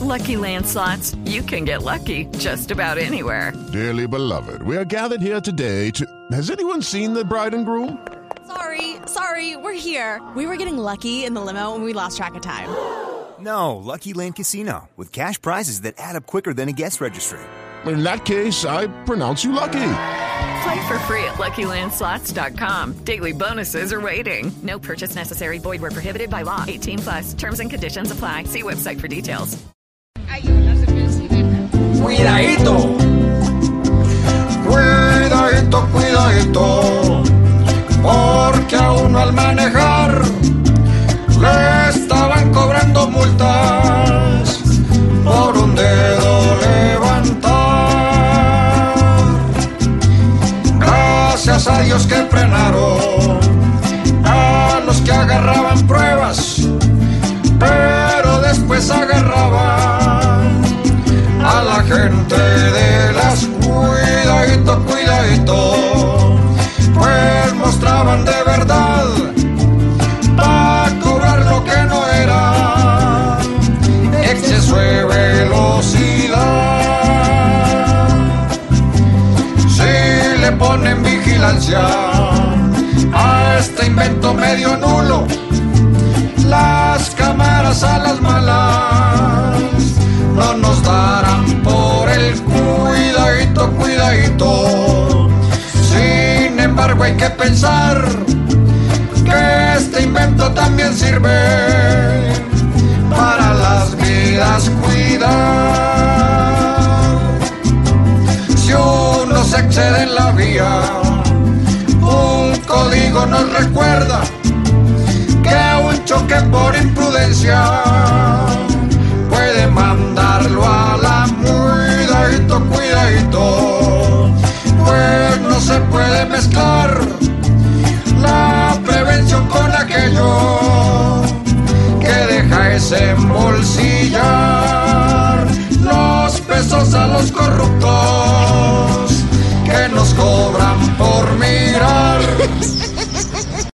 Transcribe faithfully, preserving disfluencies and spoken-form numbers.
Lucky Land Slots, you can get lucky just about anywhere. Dearly beloved, we are gathered here today to... Has anyone seen the bride and groom? Sorry, sorry, we're here. We were getting lucky in the limo and we lost track of time. No, Lucky Land Casino, with cash prizes that add up quicker than a guest registry. In that case, I pronounce you lucky. Play for free at Lucky Land Slots dot com. Daily bonuses are waiting. No purchase necessary. Void where prohibited by law. eighteen plus. Terms and conditions apply. See website for details. Cuidadito. Cuidadito, cuidadito. Porque a uno al manejar le estaban cobrando multas por un dedo levantar. Gracias a Dios que frenaron a los que agarraban pruebas, pero después agarraban a la gente de las cuidadito, cuidadito, pues mostraban de verdad para cobrar lo que no era, exceso de velocidad. Si le ponen vigilancia a este invento medio nulo, las cámaras a las malas no nos darán por el cuidadito, cuidadito. Sin embargo hay que pensar que este invento también sirve para las vidas cuidar. Si uno se excede en la vía, un código nos recuerda que un choque por imprudencia puede mandarlo a la cuidadito, cuidadito, pues no se puede mezclar la prevención con aquello que deja ese embolsillar los pesos a los corruptos